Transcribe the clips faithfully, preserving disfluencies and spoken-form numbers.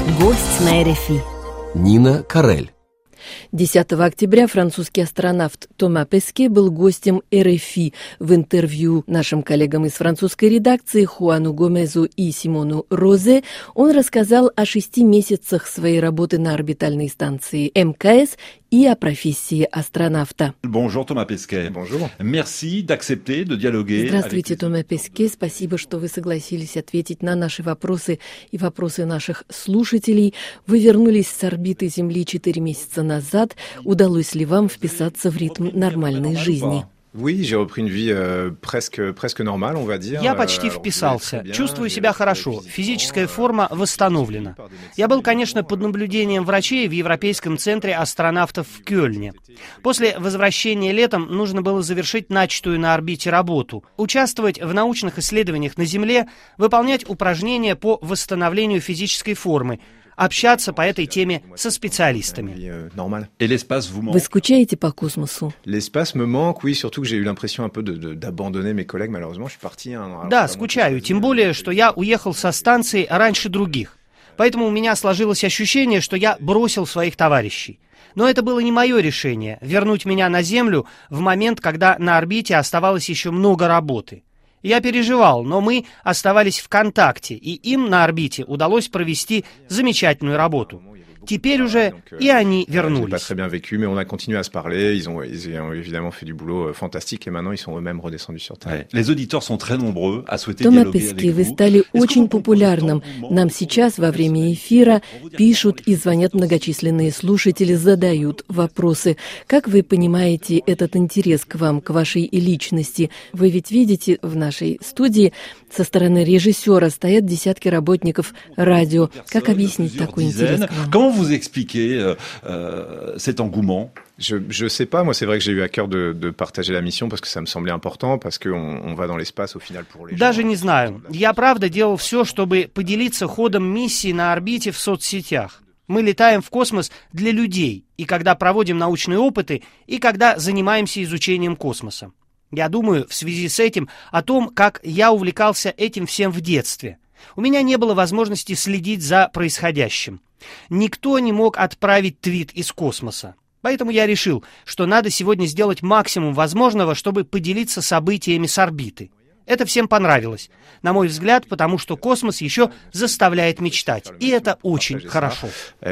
Гость на эр эф и. Нина Карель. десятого октября французский астронавт Тома Песке был гостем эр эф и. В интервью нашим коллегам из французской редакции Хуану Гомезу и Симону Розе он рассказал о шести месяцах своей работы на орбитальной станции эм ка эс и о профессии астронавта. Bonjour, Thomas Pesquet. Bonjour. Merci d'accepter de dialoguer. Здравствуйте, Тома Песке. Спасибо, что вы согласились ответить на наши вопросы и вопросы наших слушателей. Вы вернулись с орбиты Земли четыре месяца назад. Удалось ли вам вписаться в ритм нормальной жизни? Oui, j'ai repris une vie euh, presque, presque normale, on va dire. Я почти вписался. Чувствую себя хорошо. Физическая форма восстановлена. Я был, конечно, под наблюдением врачей в Европейском центре астронавтов в Кёльне. После возвращения летом нужно было завершить начатую на орбите работу, участвовать в научных исследованиях на Земле, выполнять упражнения по восстановлению физической формы, общаться по этой теме со специалистами. Вы скучаете по космосу? Да, скучаю, тем более, что я уехал со станции раньше других. Поэтому у меня сложилось ощущение, что я бросил своих товарищей. Но это было не мое решение — вернуть меня на Землю в момент, когда на орбите оставалось еще много работы. Я переживал, но мы оставались в контакте, и им на орбите удалось провести замечательную работу. Теперь уже и они вернулись. Тома Песке, вы стали очень популярным. Нам сейчас во время эфира пишут и звонят многочисленные слушатели, задают вопросы. Как вы понимаете этот интерес к вам, к вашей личности? Вы ведь видите, в нашей студии со стороны режиссера стоят десятки работников радио. Как объяснить такой интерес к вам? Vous expliquer euh, euh, cet engouement? Je je sais pas, moi c'est vrai que j'ai eu à cœur de, de partager la mission parce que ça me semblait important, parce qu'on on va dans l'espace au final pour les gens. Даже не знаю. Я правда делал все, чтобы поделиться ходом миссии на орбите в соцсетях. Мы летаем в космос для людей, и когда проводим научные опыты, и когда занимаемся изучением космоса. Я думаю в связи с этим о том, как я увлекался этим всем в детстве. У меня не было возможности следить за происходящим. Никто не мог отправить твит из космоса. Поэтому я решил, что надо сегодня сделать максимум возможного, чтобы поделиться событиями с орбиты. Это всем понравилось, на мой взгляд, потому что космос еще заставляет мечтать. И это очень хорошо.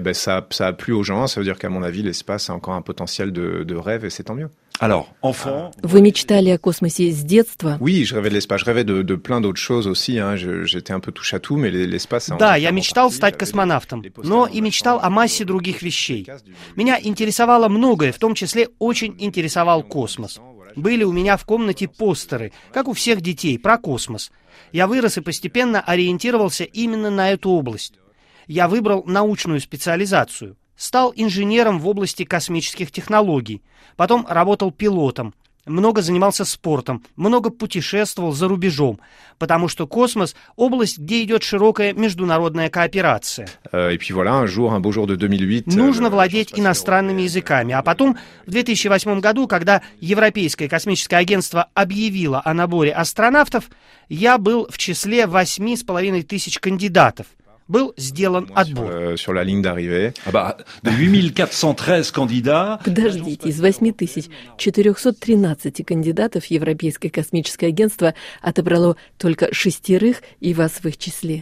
Alors, enfant... Вы мечтали о космосе с детства? Oui, je rêvais de l'espace. Je rêvais de, de plein d'autres choses aussi. Hein. Je, j'étais un peu touche à tout, mais l'espace... Да, я мечтал стать космонавтом, но и мечтал о массе других вещей. Меня интересовало многое, в том числе очень интересовал космос. Были у меня в комнате постеры, как у всех детей, про космос. Я вырос и постепенно ориентировался именно на эту область. Я выбрал научную специализацию. Стал инженером в области космических технологий. Потом работал пилотом. Много занимался спортом. Много путешествовал за рубежом. Потому что космос — область, где идет широкая международная кооперация. Нужно владеть иностранными языками. А потом, в две тысячи восьмом году, когда Европейское космическое агентство объявило о наборе астронавтов, я был в числе восьми с половиной тысяч кандидатов. Был сделан отбор. Подождите, из восьми тысяч четырехсот тринадцати кандидатов Европейское космическое агентство отобрало только шестерых, и вас в их числе.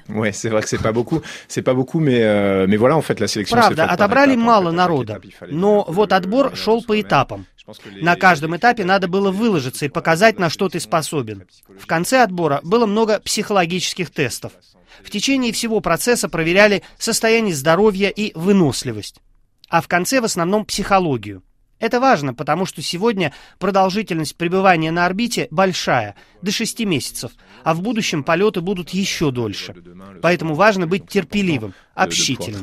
Правда, отобрали мало народа, но вот отбор шел по этапам. На каждом этапе надо было выложиться и показать, на что ты способен. В конце отбора было много психологических тестов. В течение всего процесса проверяли состояние здоровья и выносливость. А в конце в основном психологию. Это важно, потому что сегодня продолжительность пребывания на орбите большая, до шести месяцев, а в будущем полеты будут еще дольше. Поэтому важно быть терпеливым, общительным.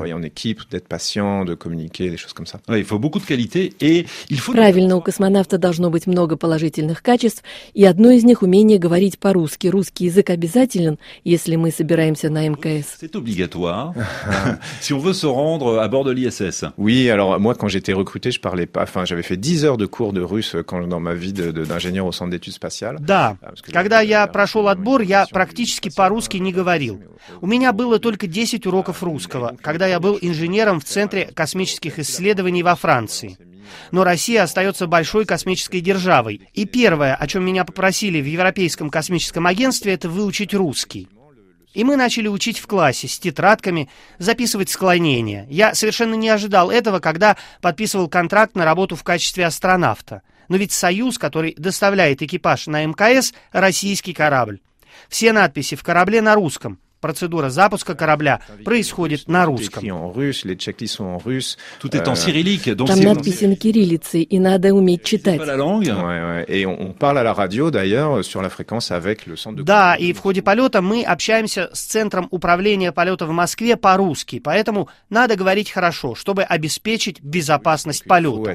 Правильно, у космонавта должно быть много положительных качеств, и одно из них — умение говорить по-русски. Русский язык обязателен, если мы собираемся на эм ка эс. C'est obligatoire si on veut se rendre à bord de l'ай эс эс. Oui, alors moi quand j'étais recruté, je parlais pas. Enfin, j'avais fait dix heures de cours de russe quand dans ma vie de, de, d'ingénieur au centre d'études spatiales. Да, когда я прошел отбор, я практически по-русски не говорил. У меня было только десять уроков русского. русского, когда я был инженером в Центре космических исследований во Франции. Но Россия остается большой космической державой. И первое, о чем меня попросили в Европейском космическом агентстве, это выучить русский. И мы начали учить в классе с тетрадками, записывать склонения. Я совершенно не ожидал этого, когда подписывал контракт на работу в качестве астронавта. Но ведь «Союз», который доставляет экипаж на эм ка эс, российский корабль. Все надписи в корабле на русском. Процедура запуска корабля происходит на русском. Tout est en cyrillique. Donc Там надписи на кириллице, и надо уметь читать. Да, и в ходе полета мы общаемся с Центром управления полета в Москве по-русски, поэтому надо говорить хорошо, чтобы обеспечить безопасность полета.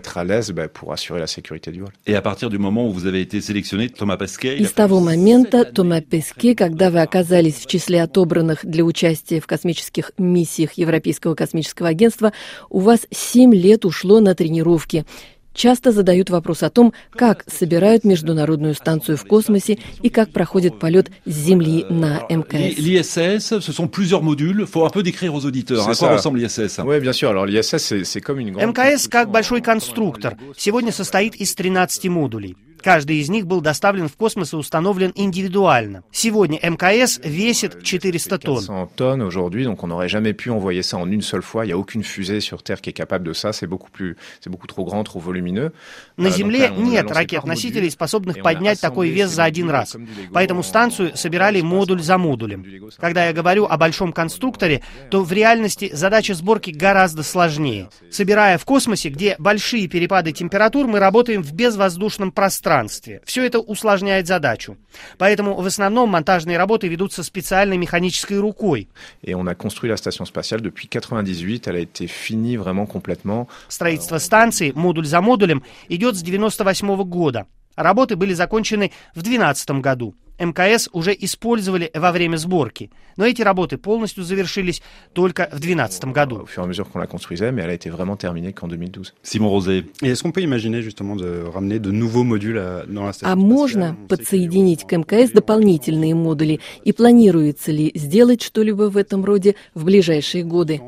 Et à partir du moment où vous avez été sélectionné, Thomas Pesquet. И с того момента Тома Песке, когда вы оказались в числе отобранных для участия в космических миссиях Европейского космического агентства, у вас семь лет ушло на тренировки. Часто задают вопрос о том, как собирают международную станцию в космосе и как проходит полет с Земли на эм ка эс. L'I S S, ce sont plusieurs modules. Faut un peu décrire aux auditeurs. À quoi ressemble l'I S S? Oui, bien sûr. Alors l'I S S, c'est, c'est comme une grande... эм ка эс, как большой конструктор, сегодня состоит из тринадцати модулей. Каждый из них был доставлен в космос и установлен индивидуально. Сегодня эм ка эс весит четыреста тонн. tonnes aujourd'hui, donc on n'aurait jamais pu envoyer ça en une seule fois. Il n'y a aucune fusée sur Terre qui est capable de ça. C'est beaucoup plus, c'est beaucoup trop grand, trop volumineux. На Земле нет ракет-носителей, способных поднять такой вес за один раз. Поэтому станцию собирали модуль за модулем. Когда я говорю о большом конструкторе, то в реальности задача сборки гораздо сложнее. Собирая в космосе, где большие перепады температур, мы работаем в безвоздушном пространстве. Все это усложняет задачу. Поэтому в основном монтажные работы ведутся специальной механической рукой. Et on a construit la station spatiale depuis quatre-vingt-dix-huit. Elle a été finie vraiment complètement. Строительство станции, модуль за модулем, идет с девяносто восьмого года. Работы были закончены в две тысячи двенадцатом году. эм ка эс уже использовали во время сборки, но эти работы полностью завершились только в две тысячи двенадцатом году. Simon Rosé. А можно подсоединить к эм ка эс дополнительные модули? И планируется ли сделать что-либо в этом роде в ближайшие годы?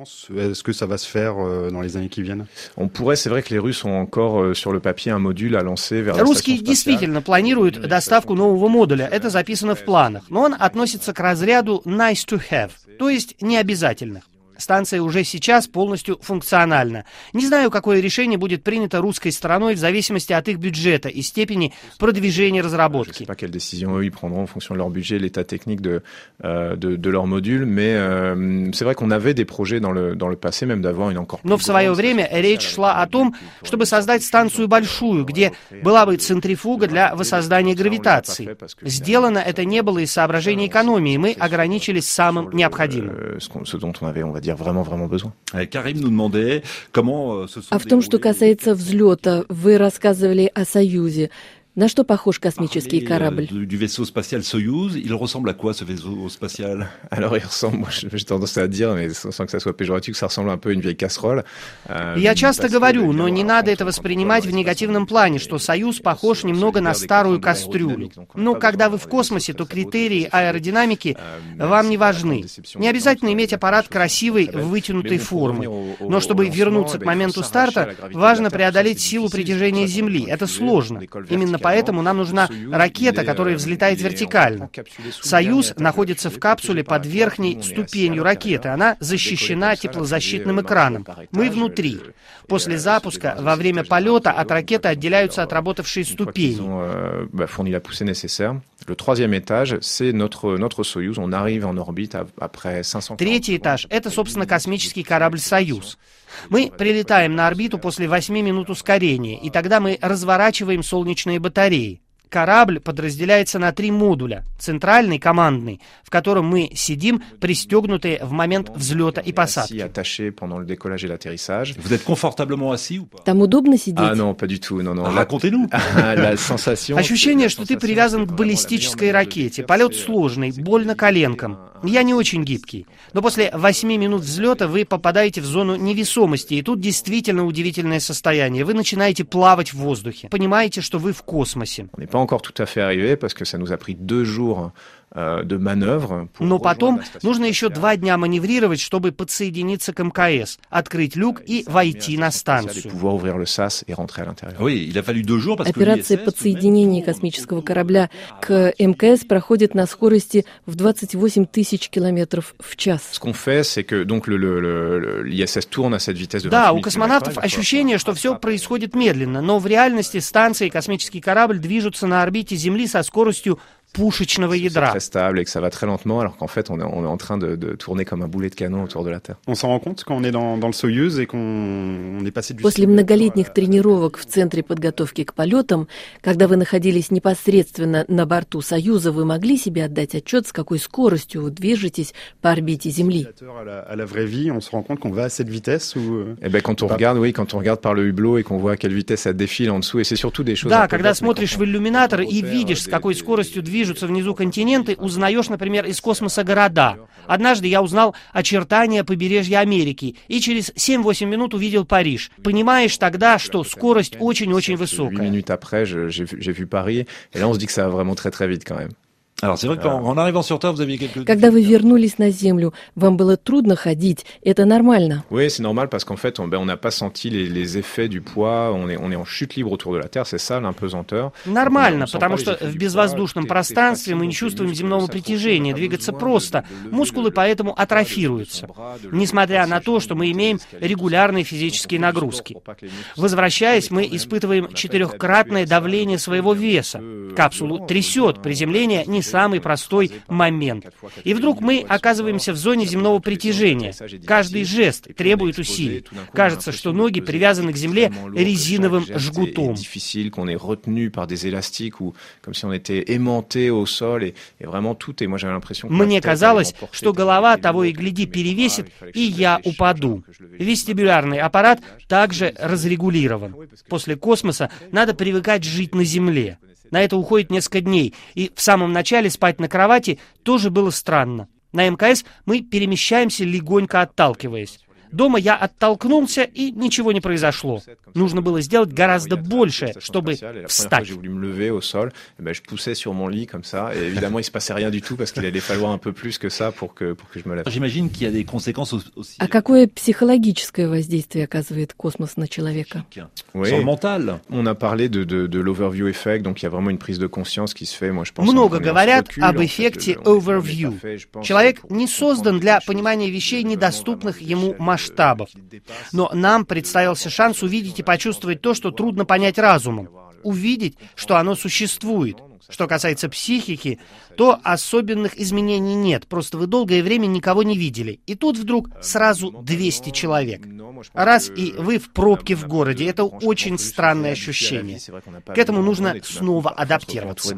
Русские действительно планируют доставку нового модуля. Это записано в планах, но он относится к разряду nice to have, то есть необязательных. Станция уже сейчас полностью функциональна. Не знаю, какое решение будет принято русской стороной в зависимости от их бюджета и степени продвижения разработки. Но в свое время речь шла о том, чтобы создать станцию большую, где была бы центрифуга для воссоздания гравитации. Сделано это не было из соображений экономии, мы ограничились самым необходимым. Vraiment, vraiment besoin. А в том, что касается взлета, вы рассказывали о «Союзе». На что похож космический корабль? Du vaisseau spatial Soyouz, il ressemble à quoi ce vaisseau spatial? Alors il ressemble, moi j'ai tendance à dire, mais sans que ça soit péjoratif, que ça ressemble un peu à une vieille casserole. Я часто говорю, но не надо это воспринимать в негативном плане, что «Союз» похож немного на старую кастрюлю. Но когда вы в космосе, то критерии аэродинамики вам не важны. Не обязательно иметь аппарат красивой, вытянутой формы. Но чтобы вернуться к моменту старта, важно преодолеть силу притяжения Земли. Это сложно. Именно поэтому нам нужна ракета, которая взлетает вертикально. «Союз» находится в капсуле под верхней ступенью ракеты. Она защищена теплозащитным экраном. Мы внутри. После запуска, во время полета, от ракеты отделяются отработавшие ступени. Третий этаж — это, собственно, космический корабль «Союз». Мы прилетаем на орбиту после восьми минут ускорения, и тогда мы разворачиваем солнечные батареи. Корабль подразделяется на три модуля. Центральный, командный, в котором мы сидим, пристегнутые в момент взлета и посадки. Там удобно сидеть? А, non, pas du tout. Non, non. Racontez-nous. Ощущение, что ты привязан к баллистической ракете. Полет сложный, больно коленкам. Я не очень гибкий. Но после восьми минут взлета вы попадаете в зону невесомости, и тут действительно удивительное состояние. Вы начинаете плавать в воздухе. Понимаете, что вы в космосе. On n'est pas encore tout à fait arrivé parce que ça nous a pris deux jours Но потом нужно еще два дня маневрировать, чтобы подсоединиться к эм ка эс, открыть люк и войти на станцию. Операция подсоединения космического корабля к эм ка эс проходит на скорости в двадцать восемь тысяч километров в час. Да, у космонавтов ощущение, что все происходит медленно, но в реальности станция и космический корабль движутся на орбите Земли со скоростью пушечного ядра. On s'en rend compte quand on est dans, dans le Soyuz et qu'on est passé du... После многолетних тренировок в Центре подготовки к полетам, когда вы находились непосредственно на борту Союза, вы могли себе отдать отчет, с какой скоростью вы движетесь по орбите Земли? À la vraie vie, on se rend compte qu'on va à cette vitesse ou... Eh ben, quand on regarde, oui, quand on regarde par le hublot et qu'on voit à quelle vitesse ça défile en dessous, et c'est surtout des choses... Да, когда смотришь в иллюминатор и видишь, с какой скоростью движется движутся внизу континенты, узнаешь, например, из космоса города. Однажды я узнал очертания побережья Америки и через семь-восемь минут увидел Париж. Понимаешь тогда, что скорость очень-очень высокая. Когда вы вернулись на Землю, вам было трудно ходить, это нормально? Oui, c'est normal parce qu'en fait, on ben, on n'a pas senti les, les effets du poids, on est, on est en chute libre autour de la Terre, c'est ça l'impesanteur. Нормально, потому что в безвоздушном пространстве мы не чувствуем земного притяжения, двигаться просто, мускулы поэтому атрофируются, несмотря на то, что мы имеем регулярные физические нагрузки. Возвращаясь, мы испытываем четырехкратное давление своего веса. Капсулу трясет, приземление не самый простой момент. И вдруг мы оказываемся в зоне земного притяжения. Каждый жест требует усилий. Кажется, что ноги привязаны к земле резиновым жгутом. Мне казалось, что голова того и гляди перевесит, и я упаду. Вестибулярный аппарат также разрегулирован. После космоса надо привыкать жить на Земле. На это уходит несколько дней, и в самом начале спать на кровати тоже было странно. На эм ка эс мы перемещаемся, легонько отталкиваясь. Дома я оттолкнулся, и ничего не произошло. Нужно было сделать гораздо больше, чтобы встать. А какое психологическое воздействие оказывает космос на человека? Много говорят об эффекте overview. Человек не создан для понимания вещей, недоступных ему масштабов. масштабов. Но нам представился шанс увидеть и почувствовать то, что трудно понять разумом. Увидеть, что оно существует. Что касается психики, то особенных изменений нет. Просто вы долгое время никого не видели. И тут вдруг сразу двести человек. Раз, и вы в пробке в городе. Это очень странное ощущение. К этому нужно снова адаптироваться.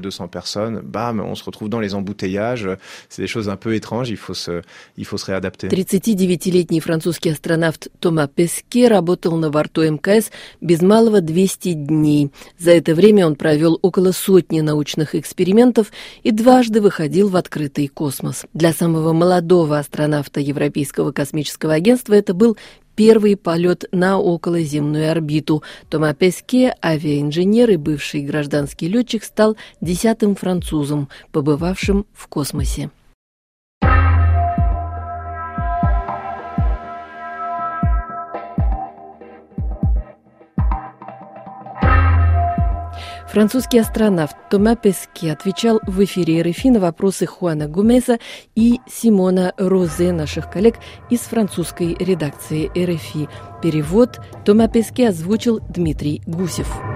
тридцатидевятилетний французский астронавт Тома Песке работал на борту эм ка эс без малого двести дней. За это время он провел около сотни научных экспериментов и дважды выходил в открытый космос. Для самого молодого астронавта Европейского космического агентства это был первый полет на околоземную орбиту. Тома Песке, авиаинженер и бывший гражданский летчик, стал десятым французом, побывавшим в космосе. Французский астронавт Тома Песке отвечал в эфире эр эф и на вопросы Хуана Гомеса и Симона Розе, наших коллег из французской редакции эр эф и. Перевод Тома Песке озвучил Дмитрий Гусев.